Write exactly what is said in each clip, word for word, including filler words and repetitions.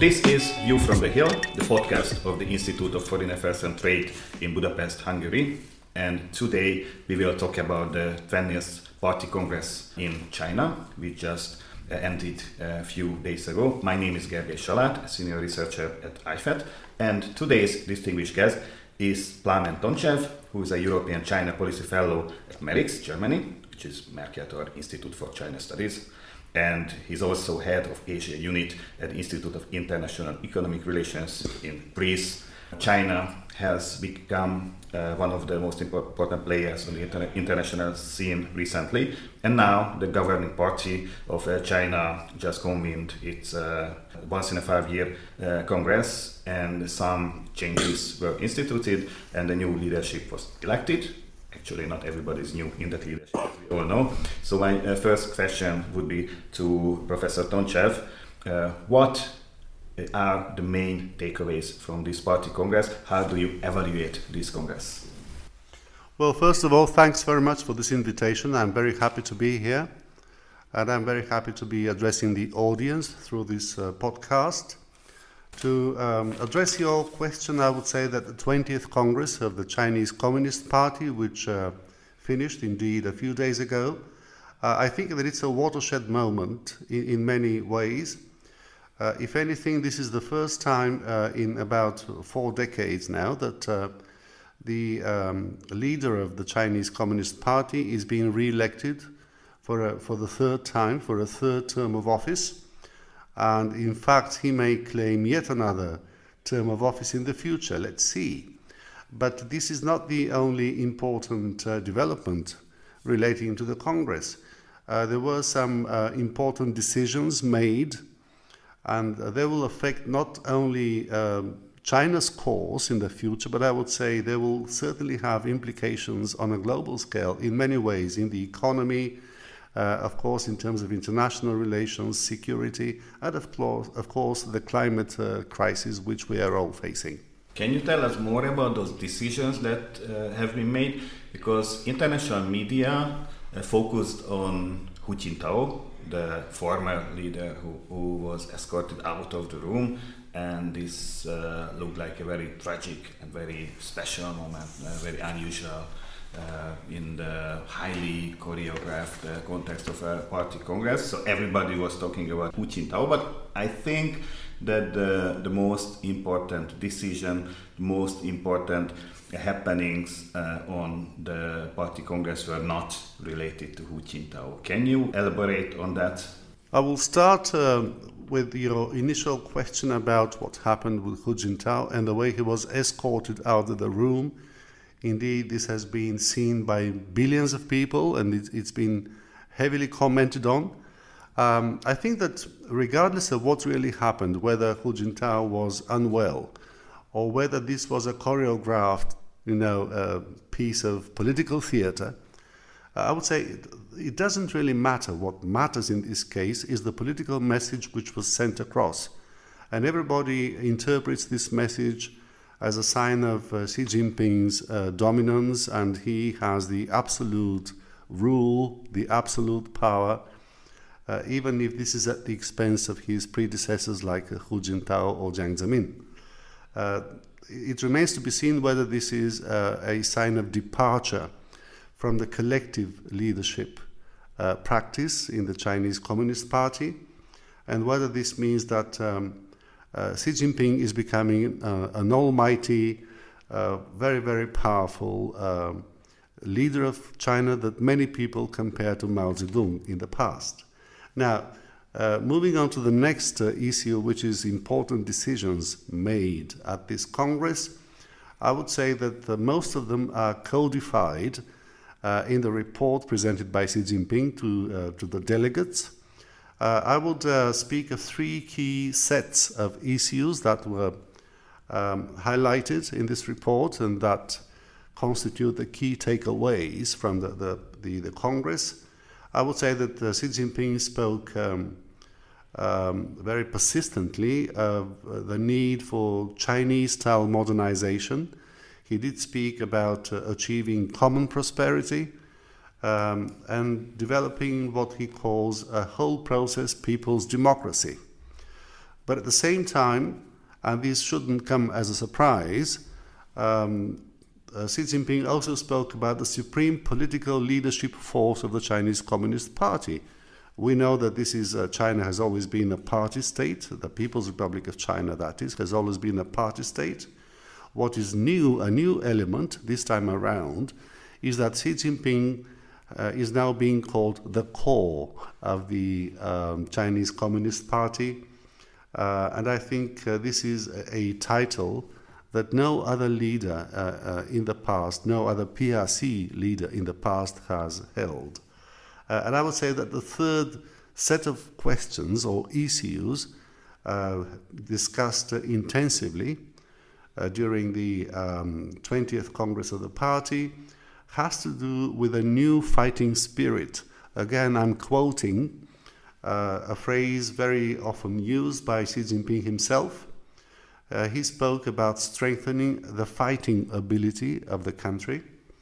This is View from the Hill, the podcast of the Institute of Foreign Affairs and Trade in Budapest, Hungary. And today we will talk about the twentieth Party Congress in China, which just uh, ended a few days ago. My name is Gergely Salát, a senior researcher at I F E T, and today's distinguished guest is Plamen Tontsev, who is a European China Policy Fellow at MERIX, Germany, which is Mercator Institute for China Studies. And he's also head of Asia Unit at the Institute of International Economic Relations in Greece. China has become uh, one of the most important players on the inter- international scene recently. And now the governing party of uh, China just convened its uh, once in a five year uh, Congress, and some changes were instituted and the new leadership was elected. Actually, not everybody is new in that leadership, as we all know. So my uh, first question would be to Professor Tontsev. Uh, what are the main takeaways from this party congress? How do you evaluate this congress? Well, first of all, thanks very much for this invitation. I'm very happy to be here. And I'm very happy to be addressing the audience through this uh, podcast. To um, address your question, I would say that the twentieth Congress of the Chinese Communist Party, which uh, finished indeed a few days ago, uh, I think that it's a watershed moment in, in many ways. Uh, if anything, this is the first time uh, in about four decades now that uh, the um, leader of the Chinese Communist Party is being re-elected for, a, for the third time, for a third term of office. And in fact, he may claim yet another term of office in the future. Let's see. But this is not the only important uh, development relating to the Congress. Uh, there were some uh, important decisions made, and uh, they will affect not only um, China's course in the future, but I would say they will certainly have implications on a global scale in many ways, in the economy, Uh, of course, in terms of international relations, security, and of course, of course the climate uh, crisis which we are all facing. Can you tell us more about those decisions that uh, have been made? Because international media uh, focused on Hu Jintao, the former leader who, who was escorted out of the room, and this uh, looked like a very tragic and very special moment, uh, very unusual. Uh, in the highly choreographed uh, context of a party congress. So everybody was talking about Hu Jintao, but I think that the, the most important decision, the most important happenings uh, on the party congress were not related to Hu Jintao. Can you elaborate on that? I will start uh, with your initial question about what happened with Hu Jintao and the way he was escorted out of the room. Indeed, this has been seen by billions of people, and it, it's been heavily commented on. Um, I think that regardless of what really happened, whether Hu Jintao was unwell or whether this was a choreographed, you know, uh, piece of political theater, uh, I would say it, it doesn't really matter. What matters in this case is the political message which was sent across. And everybody interprets this message as a sign of uh, Xi Jinping's uh, dominance, and he has the absolute rule, the absolute power, uh, even if this is at the expense of his predecessors like uh, Hu Jintao or Jiang Zemin. Uh, it remains to be seen whether this is uh, a sign of departure from the collective leadership uh, practice in the Chinese Communist Party, and whether this means that um, Uh, Xi Jinping is becoming uh, an almighty, uh, very, very powerful uh, leader of China that many people compare to Mao Zedong in the past. Now, uh, moving on to the next uh, issue, which is important decisions made at this Congress, I would say that uh, most of them are codified uh, in the report presented by Xi Jinping to, uh, to the delegates. Uh, I would uh, speak of three key sets of issues that were um, highlighted in this report and that constitute the key takeaways from the, the, the, the Congress. I would say that uh, Xi Jinping spoke um, um, very persistently of uh, the need for Chinese-style modernization. He did speak about uh, achieving common prosperity, Um, and developing what he calls a whole process people's democracy. But at the same time, and this shouldn't come as a surprise, um, uh, Xi Jinping also spoke about the supreme political leadership force of the Chinese Communist Party. We know that this is uh, China has always been a party state. The People's Republic of China, that is, has always been a party state. What is new, a new element this time around, is that Xi Jinping uh, is now being called the core of the um, Chinese Communist Party. Uh, and I think uh, this is a, a title that no other leader uh, uh, in the past, no other P R C leader in the past has held. Uh, and I would say that the third set of questions or issues uh, discussed uh, intensively uh, during the um, twentieth Congress of the party has to do with a new fighting spirit. Again, I'm quoting uh, a phrase very often used by Xi Jinping himself. Uh, he spoke about strengthening the fighting ability of the country.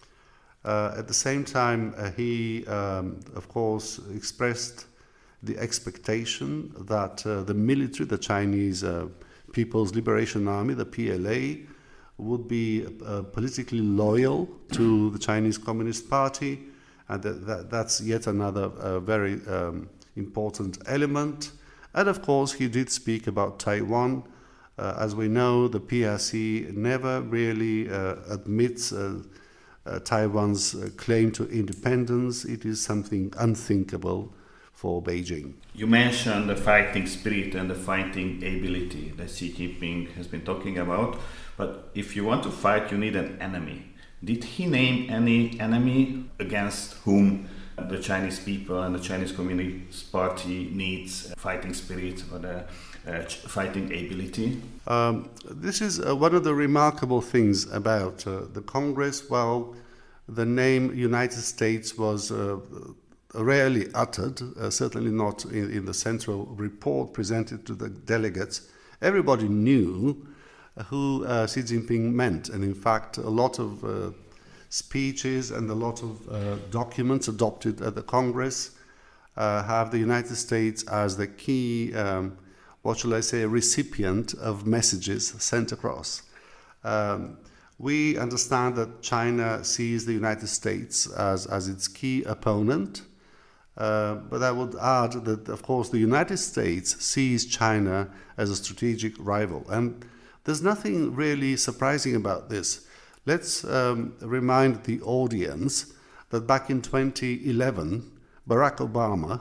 Uh, at the same time, uh, he, um, of course, expressed the expectation that uh, the military, the Chinese uh, People's Liberation Army, the P L A, would be uh, politically loyal to the Chinese Communist Party, and that, that, that's yet another uh, very um, important element. And of course, he did speak about Taiwan. Uh, as we know, the P R C never really uh, admits uh, uh, Taiwan's uh, claim to independence. It is something unthinkable for Beijing. You mentioned the fighting spirit and the fighting ability that Xi Jinping has been talking about, but if you want to fight, you need an enemy. Did he name any enemy against whom the Chinese people and the Chinese Communist Party needs fighting spirit or the uh, fighting ability? Um, this is uh, one of the remarkable things about uh, the Congress. While the name United States was uh, rarely uttered, uh, certainly not in, in the central report presented to the delegates, everybody knew who uh, Xi Jinping meant. And in fact, a lot of uh, speeches and a lot of uh, documents adopted at the Congress uh, have the United States as the key, um, what shall I say, recipient of messages sent across. Um, we understand that China sees the United States as, as its key opponent, uh, but I would add that, of course, the United States sees China as a strategic rival. And there's nothing really surprising about this. Let's um, remind the audience that back in twenty eleven, Barack Obama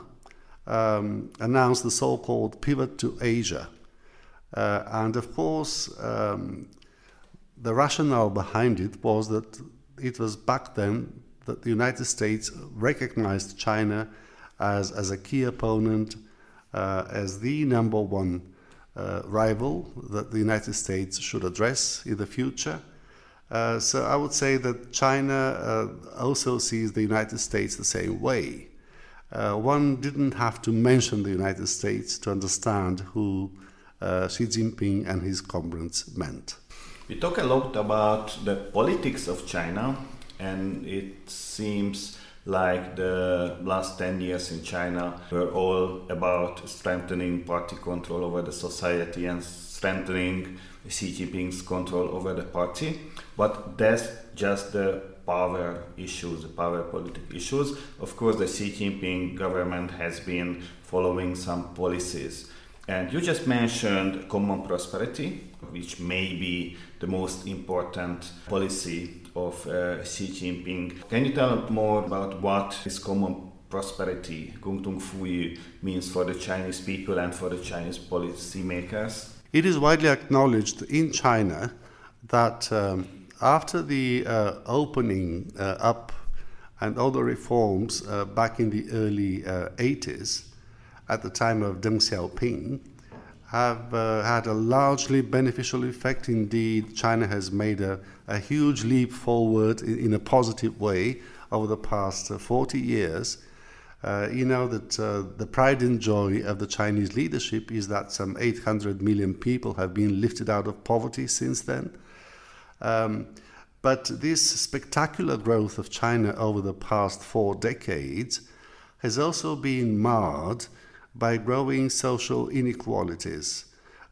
um, announced the so-called pivot to Asia. Uh, and of course, um, the rationale behind it was that it was back then that the United States recognized China as, as a key opponent, uh, as the number one uh, rival that the United States should address in the future. Uh, so I would say that China uh, also sees the United States the same way. Uh, one didn't have to mention the United States to understand who uh, Xi Jinping and his comrades meant. We talk a lot about the politics of China, and it seems like the last ten years in China were all about strengthening party control over the society and strengthening Xi Jinping's control over the party. But that's just the power issues, the power politic issues. Of course, the Xi Jinping government has been following some policies. And you just mentioned common prosperity, which may be the most important policy of uh, Xi Jinping. Can you tell us more about what this common prosperity, Gongtung Fuyu, means for the Chinese people and for the Chinese policymakers? It is widely acknowledged in China that um, after the uh, opening uh, up and all the reforms uh, back in the early uh, eighties, at the time of Deng Xiaoping, have uh, had a largely beneficial effect. Indeed, China has made a, a huge leap forward in, in a positive way over the past uh, forty years. Uh, you know that uh, the pride and joy of the Chinese leadership is that some eight hundred million people have been lifted out of poverty since then. Um, but this spectacular growth of China over the past four decades has also been marred by growing social inequalities.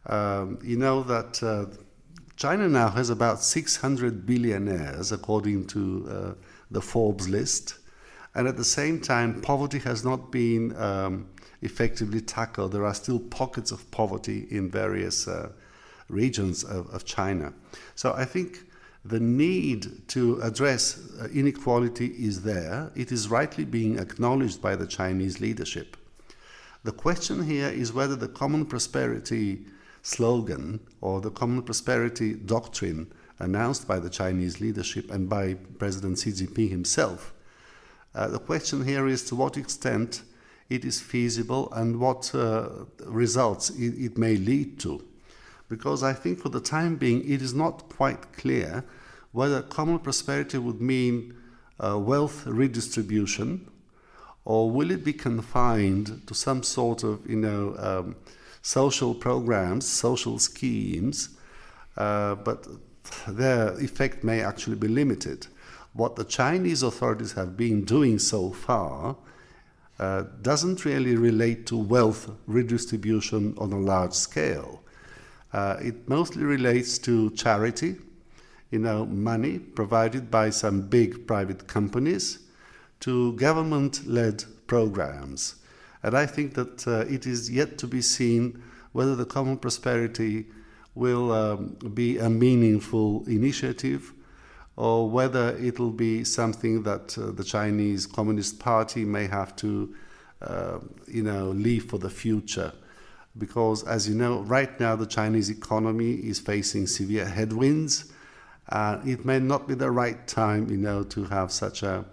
Um, you know that uh, China now has about six hundred billionaires, according to uh, the Forbes list. And at the same time, poverty has not been um, effectively tackled. There are still pockets of poverty in various uh, regions of, of China. So I think the need to address uh, inequality is there. It is rightly being acknowledged by the Chinese leadership. The question here is whether the common prosperity slogan or the common prosperity doctrine announced by the Chinese leadership and by President Xi Jinping himself, uh, the question here is to what extent it is feasible and what uh, results it, it may lead to. Because I think for the time being it is not quite clear whether common prosperity would mean uh, wealth redistribution, or will it be confined to some sort of, you know, um, social programs, social schemes, uh, but their effect may actually be limited. What the Chinese authorities have been doing so far uh, doesn't really relate to wealth redistribution on a large scale. Uh, it mostly relates to charity, you know, money provided by some big private companies, to government-led programs. And I think that uh, it is yet to be seen whether the common prosperity will um, be a meaningful initiative or whether it will be something that uh, the Chinese Communist Party may have to uh, you know, leave for the future. Because, as you know, right now the Chinese economy is facing severe headwinds. Uh, it may not be the right time, you know, to have such a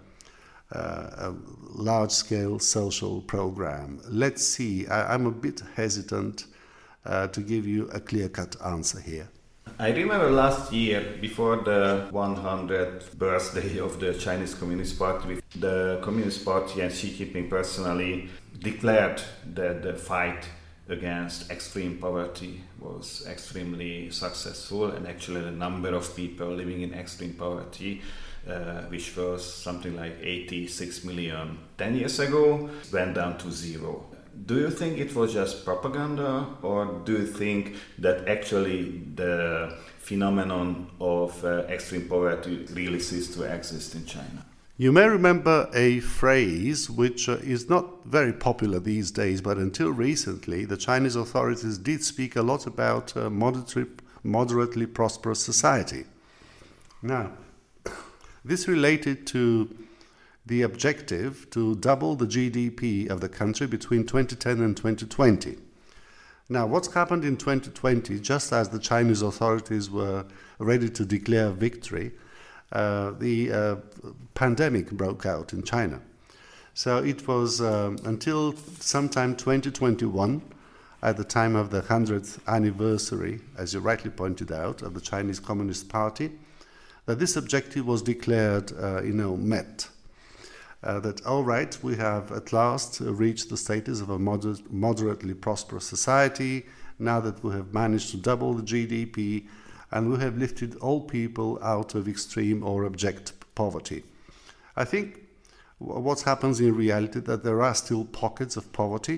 Uh, a large-scale social program. Let's see. I, I'm a bit hesitant uh, to give you a clear-cut answer here. I remember last year, before the one hundredth birthday of the Chinese Communist Party, the Communist Party and Xi Jinping personally declared that the fight against extreme poverty was extremely successful, and actually the number of people living in extreme poverty, Uh, which was something like eighty-six million ten years ago, went down to zero. Do you think it was just propaganda, or do you think that actually the phenomenon of uh, extreme poverty really ceased to exist in China? You may remember a phrase which uh, is not very popular these days, but until recently the Chinese authorities did speak a lot about uh, moderately, moderately prosperous society. Now, this related to the objective to double the G D P of the country between twenty ten and twenty twenty. Now, what's happened in twenty twenty, just as the Chinese authorities were ready to declare victory, uh, the uh, pandemic broke out in China. So it was um, until sometime twenty twenty-one, at the time of the hundredth anniversary, as you rightly pointed out, of the Chinese Communist Party, that this objective was declared, uh, you know, met. Uh, that, all right, we have at last uh, reached the status of a moder- moderately prosperous society, now that we have managed to double the G D P, and we have lifted all people out of extreme or abject poverty. I think w- what happens in reality that there are still pockets of poverty,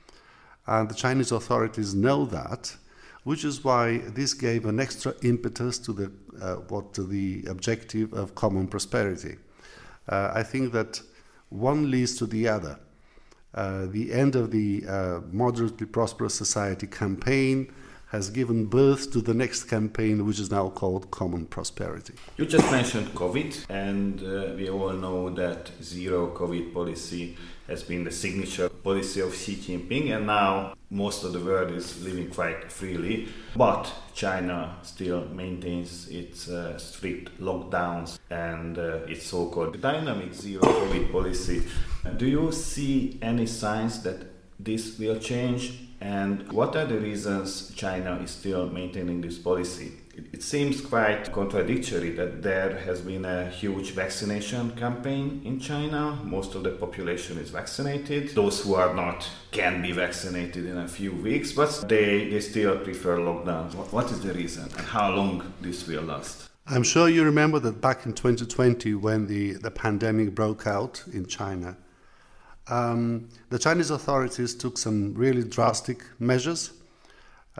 and the Chinese authorities know that, which is why this gave an extra impetus to the uh, what to the objective of common prosperity. Uh, I think that one leads to the other. Uh, the end of the uh, moderately prosperous society campaign has given birth to the next campaign, which is now called common prosperity. You just mentioned COVID, and uh, we all know that zero COVID policy has been the signature policy of Xi Jinping, and now most of the world is living quite freely. But China still maintains its uh, strict lockdowns and uh, its so-called dynamic zero COVID policy. Do you see any signs that this will change? And what are the reasons China is still maintaining this policy? It, it seems quite contradictory that there has been a huge vaccination campaign in China. Most of the population is vaccinated. Those who are not can be vaccinated in a few weeks, but they, they still prefer lockdowns. What, what is the reason, and how long this will last? I'm sure you remember that back in twenty twenty, when the, the pandemic broke out in China, Um, the Chinese authorities took some really drastic measures.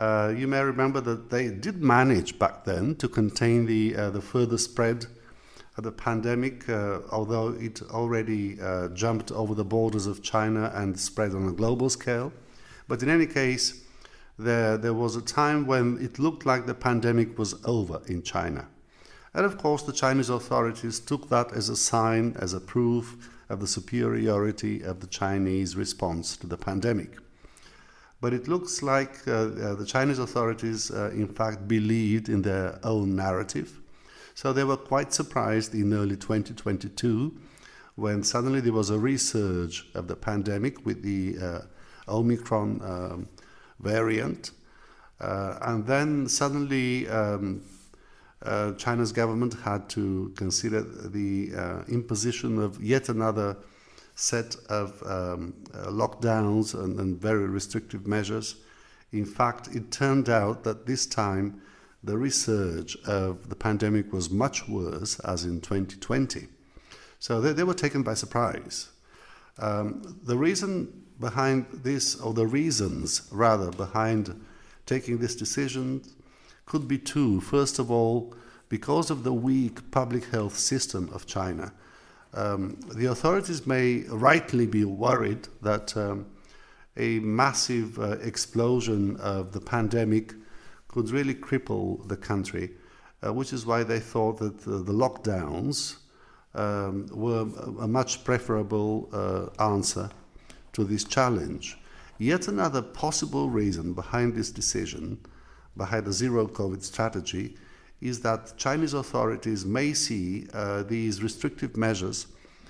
Uh, you may remember that they did manage back then to contain the, uh, the further spread of the pandemic, uh, although it already uh, jumped over the borders of China and spread on a global scale. But in any case, there, there was a time when it looked like the pandemic was over in China. And of course, the Chinese authorities took that as a sign, as a proof of the superiority of the Chinese response to the pandemic. But it looks like uh, uh, the Chinese authorities, uh, in fact, believed in their own narrative. So they were quite surprised in early twenty twenty-two when suddenly there was a resurge of the pandemic with the uh, Omicron um, variant. Uh, and then suddenly um, uh, China's government had to consider the uh, imposition of yet another set of um, uh, lockdowns and, and very restrictive measures. In fact, it turned out that this time the resurge of the pandemic was much worse, as in twenty twenty. So they, they were taken by surprise. Um, the reason behind this, or the reasons rather, behind taking this decision could be two. First of all, because of the weak public health system of China. Um, the authorities may rightly be worried that um, a massive uh, explosion of the pandemic could really cripple the country, uh, which is why they thought that uh, the lockdowns um, were a much preferable uh, answer to this challenge. Yet another possible reason behind this decision, behind the zero COVID strategy, is that Chinese authorities may see uh, these restrictive measures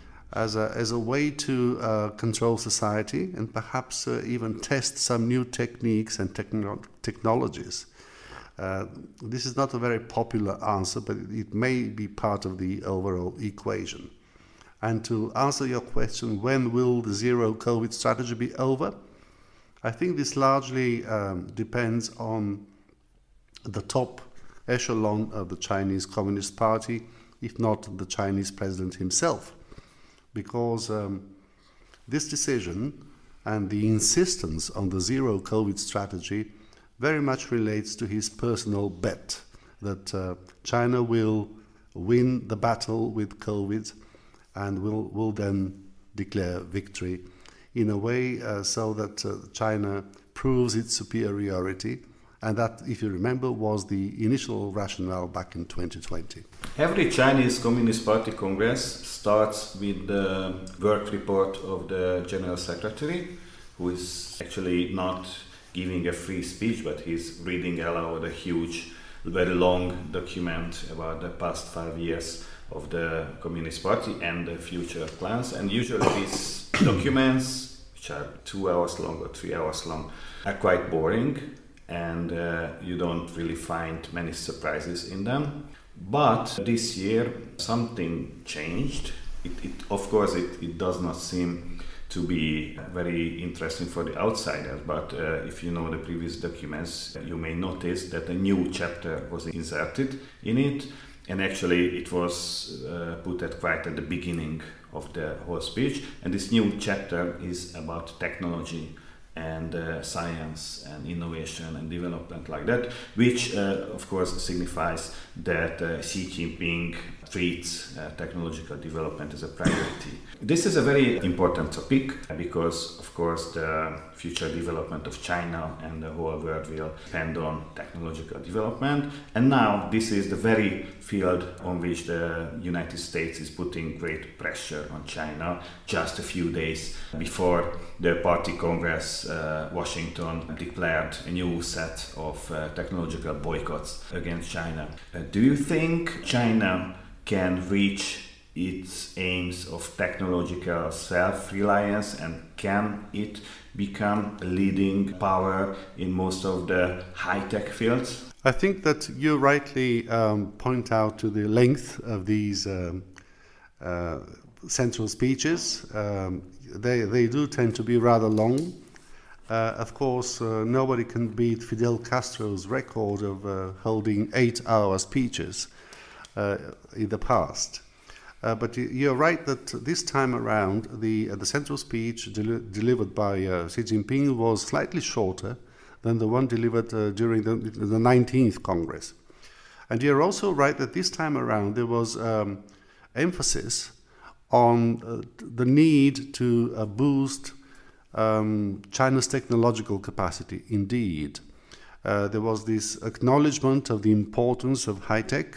as a, as a way to uh, control society and perhaps uh, even test some new techniques and techno- technologies. Uh, this is not a very popular answer, but it may be part of the overall equation. And to answer your question, when will the zero COVID strategy be over? I think this largely um, depends on the top echelon of the Chinese Communist Party, if not the Chinese president himself, because um, this decision and the insistence on the zero COVID strategy very much relates to his personal bet that uh, China will win the battle with COVID and will, will then declare victory in a way uh, so that uh, China proves its superiority. And that, if you remember, was the initial rationale back in twenty twenty. Every Chinese Communist Party Congress starts with the work report of the General Secretary, who is actually not giving a free speech, but he's reading aloud a huge, very long document about the past five years of the Communist Party and the future plans. And usually these documents, which are two hours long or three hours long, are quite boring. And uh, you don't really find many surprises in them. But this year something changed. It, it, of course, it, it does not seem to be very interesting for the outsiders, but uh, if you know the previous documents, you may notice that a new chapter was inserted in it, and actually it was uh, put at quite at the beginning of the whole speech. And this new chapter is about technology and uh, science and innovation and development like that, which uh, of course signifies that uh, Xi Jinping treats uh, technological development as a priority. This is a very important topic because of course the future development of China and the whole world will depend on technological development, and now this is the very field on which the United States is putting great pressure on China just a few days before the party congress uh, Washington declared a new set of uh, technological boycotts against China. Uh, do you think China can reach its aims of technological self-reliance, and can it become a leading power in most of the high-tech fields? I think that you rightly um, point out to the length of these um, uh, central speeches. Um, they, they do tend to be rather long. Uh, of course, uh, nobody can beat Fidel Castro's record of uh, holding eight-hour speeches uh, in the past. Uh, but you're right that this time around, the uh, the central speech del- delivered by uh, Xi Jinping was slightly shorter than the one delivered uh, during the, the nineteenth Congress. And you're also right that this time around there was um, emphasis on uh, the need to uh, boost um, China's technological capacity. Indeed, uh, there was this acknowledgement of the importance of high-tech,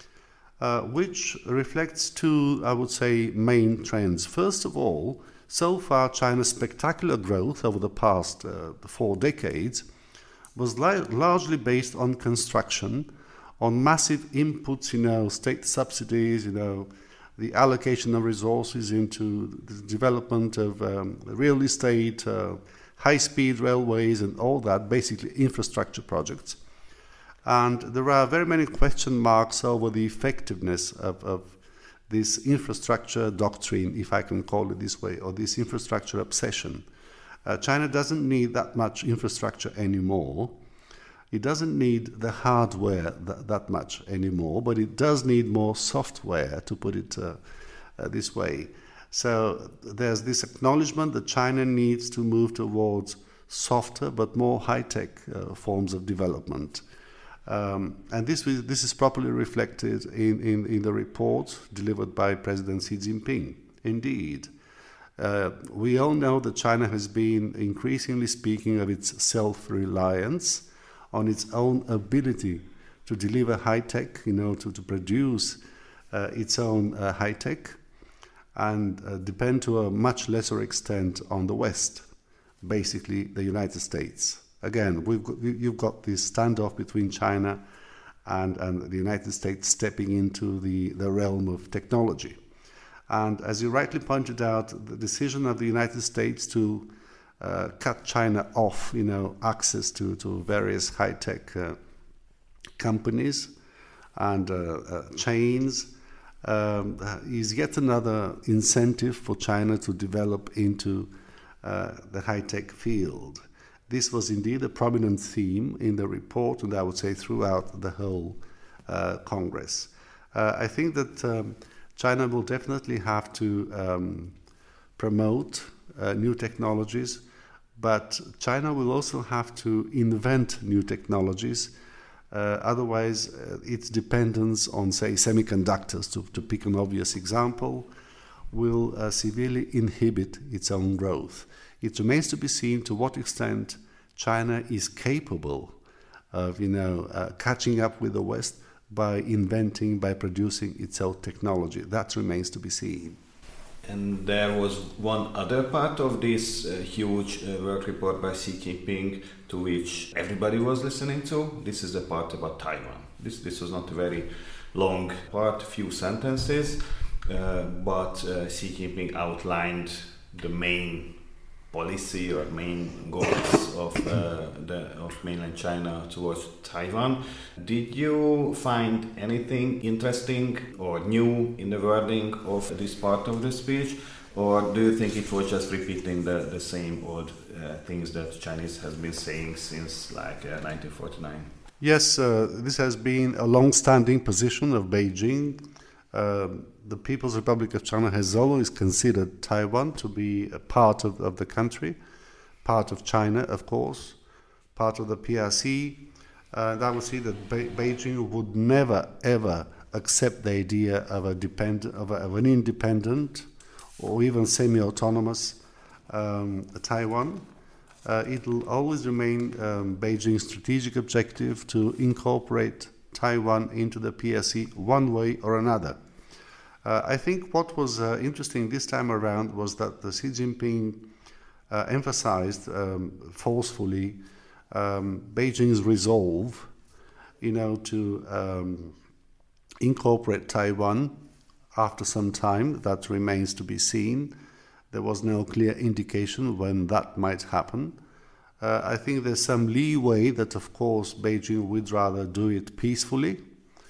uh, which reflects two, I would say, main trends. First of all, so far China's spectacular growth over the past uh, four decades was li- largely based on construction, on massive inputs, you know, state subsidies, you know, the allocation of resources into the development of um, real estate, uh, high-speed railways and all that, basically infrastructure projects. And there are very many question marks over the effectiveness of, of this infrastructure doctrine, if I can call it this way, or this infrastructure obsession. Uh, China doesn't need that much infrastructure anymore. It doesn't need the hardware th- that much anymore, but it does need more software, to put it uh, uh, this way. So there's this acknowledgement that China needs to move towards softer but more high-tech uh, forms of development. Um, and this, this is properly reflected in, in, in the report delivered by President Xi Jinping. Indeed, uh, we all know that China has been increasingly speaking of its self-reliance, on its own ability to deliver high-tech, you know, to, to produce uh, its own uh, high-tech, and uh, depend to a much lesser extent on the West, basically the United States. Again, we've got, you've got this standoff between China and, and the United States stepping into the, the realm of technology. And as you rightly pointed out, the decision of the United States to uh, cut China off, you know, access to, to various high-tech uh, companies and uh, uh, chains um, is yet another incentive for China to develop into uh, the high-tech field. This was indeed a prominent theme in the report, and I would say throughout the whole uh, Congress. Uh, I think that um, China will definitely have to um, promote uh, new technologies, but China will also have to invent new technologies. Uh, otherwise, uh, its dependence on, say, semiconductors, to, to pick an obvious example, will uh, severely inhibit its own growth. It remains to be seen to what extent China is capable of, you know, uh, catching up with the West by inventing, by producing its own technology. That remains to be seen. And there was one other part of this uh, huge uh, work report by Xi Jinping to which everybody was listening to. This is the part about Taiwan. This, this was not a very long part, few sentences, uh, but uh, Xi Jinping outlined the main policy or main goals of uh, the of mainland China towards Taiwan. Did you find anything interesting or new in the wording of this part of the speech, or do you think it was just repeating the, the same old uh, things that Chinese has been saying since like uh, nineteen forty-nine? Yes, uh, this has been a long-standing position of Beijing. Uh, the People's Republic of China has always considered Taiwan to be a part of, of the country, part of China, of course, part of the P R C. Uh, and I would say that Be- Beijing would never, ever accept the idea of, a depend- of, a, of an independent or even semi-autonomous um, Taiwan. Uh, it will always remain um, Beijing's strategic objective to incorporate Taiwan into the P R C one way or another. Uh, I think what was uh, interesting this time around was that the Xi Jinping uh, emphasized um, forcefully um, Beijing's resolve, you know, to um, incorporate Taiwan after some time. That remains to be seen. There was no clear indication when that might happen. Uh, I think there's some leeway that, of course, Beijing would rather do it peacefully,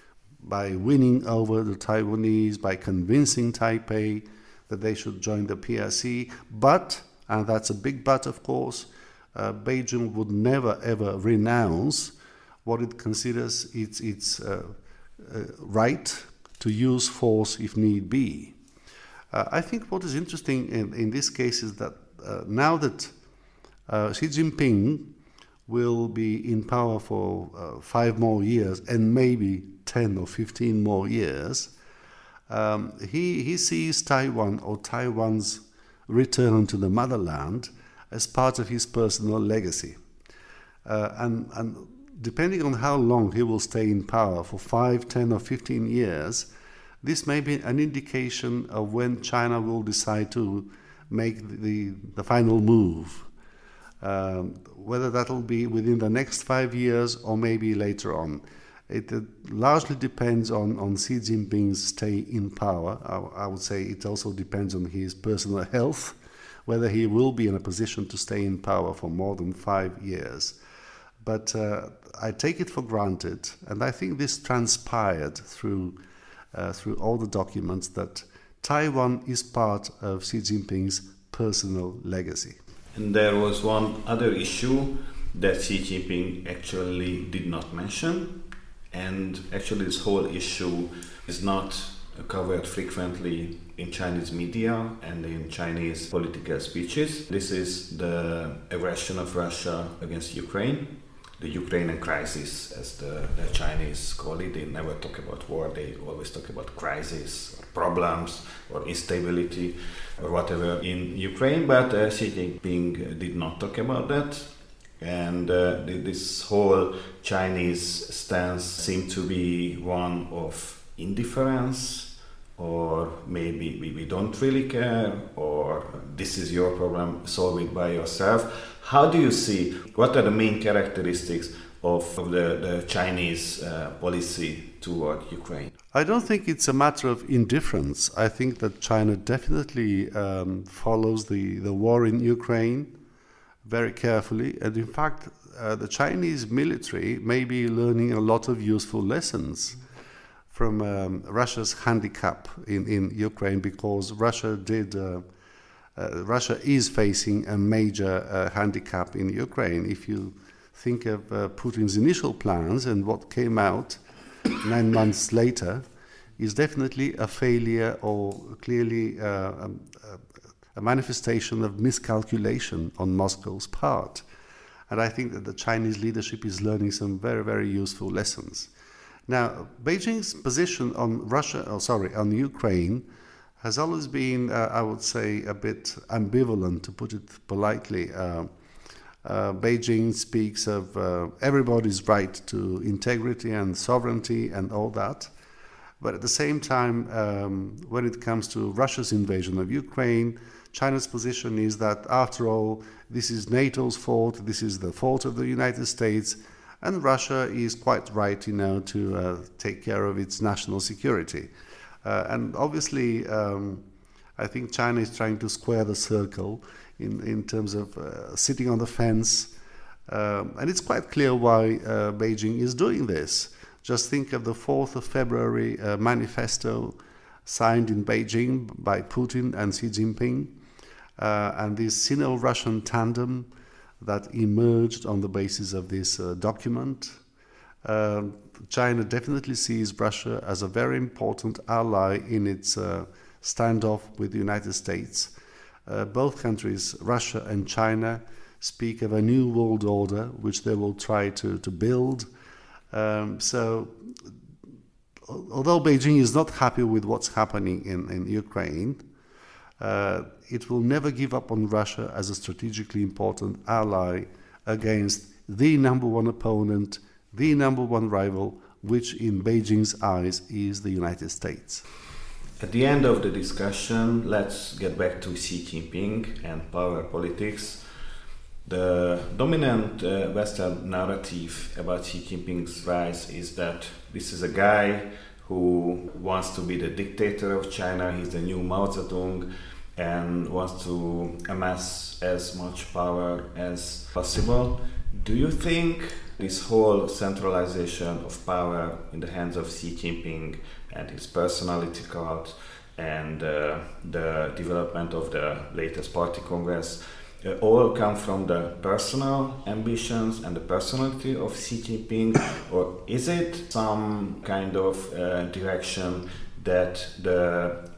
by winning over the Taiwanese, by convincing Taipei that they should join the P R C. But, and that's a big but, of course, uh, Beijing would never ever renounce what it considers its, its uh, uh, right to use force if need be. Uh, I think what is interesting in, in this case is that uh, now that uh, Xi Jinping will be in power for uh, five more years and maybe ten or fifteen more years, um, he, he sees Taiwan or Taiwan's return to the motherland as part of his personal legacy. Uh, and, and depending on how long he will stay in power, for five, ten or fifteen years, this may be an indication of when China will decide to make the, the final move. Um, whether that will be within the next five years or maybe later on. It uh, largely depends on, on Xi Jinping's stay in power. I, I would say it also depends on his personal health, whether he will be in a position to stay in power for more than five years. But uh, I take it for granted, and I think this transpired through, uh, through all the documents, that Taiwan is part of Xi Jinping's personal legacy. And there was one other issue that Xi Jinping actually did not mention, and actually this whole issue is not covered frequently in Chinese media and in Chinese political speeches. This is the aggression of Russia against Ukraine, the Ukrainian crisis, as the, the Chinese call it. They never talk about war, they always talk about crisis, or problems, or instability, or whatever in Ukraine, but uh, Xi Jinping did not talk about that. And uh, this whole Chinese stance seemed to be one of indifference, or maybe we, we don't really care, or this is your problem, solve it by yourself. How do you see, what are the main characteristics of, of the, the Chinese uh, policy toward Ukraine? I don't think it's a matter of indifference. I think that China definitely um, follows the, the war in Ukraine very carefully. And in fact, uh, the Chinese military may be learning a lot of useful lessons from um, Russia's handicap in, in Ukraine, because Russia did... Uh, Uh, Russia is facing a major uh, handicap in Ukraine. If you think of uh, Putin's initial plans and what came out nine months later, is definitely a failure, or clearly uh, a, a manifestation of miscalculation on Moscow's part. And I think that the Chinese leadership is learning some very, very useful lessons. Now, Beijing's position on Russia, oh, sorry, on Ukraine, has always been, uh, I would say, a bit ambivalent, to put it politely. Uh, uh, Beijing speaks of uh, everybody's right to integrity and sovereignty and all that. But at the same time, um, when it comes to Russia's invasion of Ukraine, China's position is that, after all, this is NATO's fault, this is the fault of the United States, and Russia is quite right, you know, to uh, take care of its national security. Uh, and obviously, um, I think China is trying to square the circle in, in terms of uh, sitting on the fence. Um, and it's quite clear why uh, Beijing is doing this. Just think of the fourth of February uh, manifesto signed in Beijing by Putin and Xi Jinping, uh, and this Sino-Russian tandem that emerged on the basis of this uh, document. Uh, China definitely sees Russia as a very important ally in its uh, standoff with the United States. Uh, both countries, Russia and China, speak of a new world order which they will try to, to build. Um, so, although Beijing is not happy with what's happening in, in Ukraine, uh, it will never give up on Russia as a strategically important ally against the number one opponent, the number one rival, which in Beijing's eyes is the United States. At the end of the discussion, let's get back to Xi Jinping and power politics. The dominant uh, Western narrative about Xi Jinping's rise is that this is a guy who wants to be the dictator of China, he's the new Mao Zedong, and wants to amass as much power as possible. Do you think this whole centralization of power in the hands of Xi Jinping and his personality cult and uh, the development of the latest party congress uh, all come from the personal ambitions and the personality of Xi Jinping, or is it some kind of uh, direction that the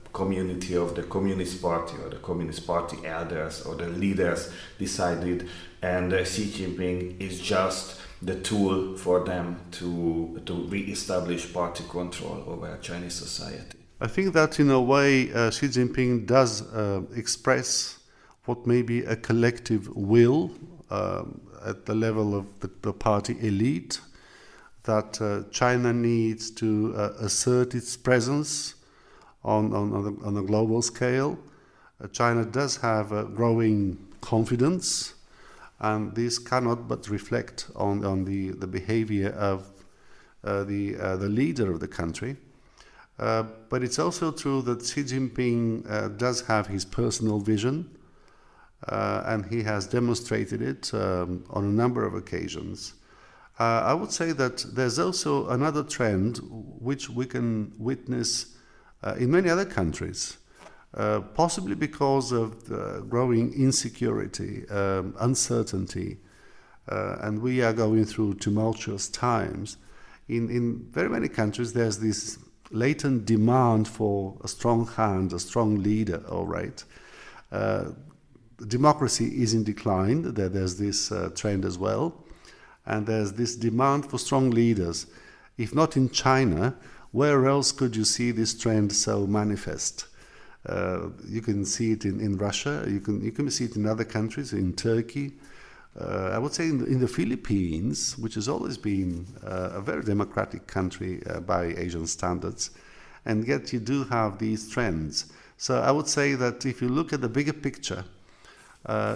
community of the Communist Party or the Communist Party elders or the leaders decided, and uh, Xi Jinping is just the tool for them to to re-establish party control over Chinese society. I think that in a way uh, Xi Jinping does uh, express what may be a collective will um, at the level of the, the party elite, that uh, China needs to uh, assert its presence on, on, on, a, on a global scale. Uh, China does have a growing confidence, and this cannot but reflect on, on the, the behavior of uh, the, uh, the leader of the country. Uh, but it's also true that Xi Jinping uh, does have his personal vision, uh, and he has demonstrated it um, on a number of occasions. Uh, I would say that there's also another trend which we can witness uh, in many other countries, uh, possibly because of the growing insecurity, um, uncertainty, uh, and we are going through tumultuous times. In, in very many countries, there's this latent demand for a strong hand, a strong leader, all right. Uh, democracy is in decline, there, there's this uh, trend as well, and there's this demand for strong leaders. If not in China, where else could you see this trend so manifest? Uh, you can see it in, in Russia, you can, you can see it in other countries, in Turkey. Uh, I would say in the, in the Philippines, which has always been uh, a very democratic country uh, by Asian standards, and yet you do have these trends. So I would say that if you look at the bigger picture, uh,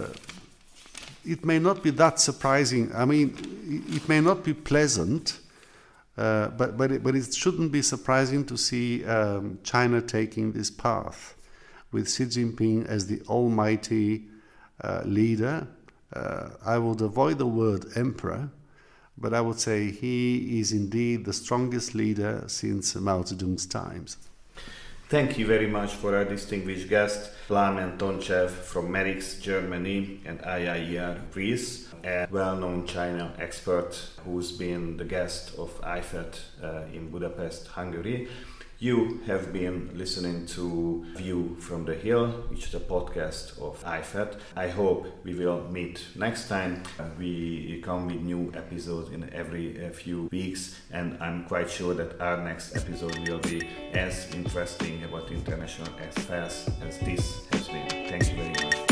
it may not be that surprising. I mean, it may not be pleasant, uh, but but it, but it shouldn't be surprising to see um, China taking this path, with Xi Jinping as the almighty uh, leader. Uh, I would avoid the word emperor, but I would say he is indeed the strongest leader since Mao Zedong's times. Thank you very much for our distinguished guest, Plamen Tonchev from Merix, Germany, and I I E R, Greece, a well-known China expert who's been the guest of I F E T uh, in Budapest, Hungary. You have been listening to View from the Hill, which is a podcast of I F E T. I hope we will meet next time. Uh, we come with new episodes in every uh, few weeks, and I'm quite sure that our next episode will be as interesting about international affairs as this has been. Thank you very much.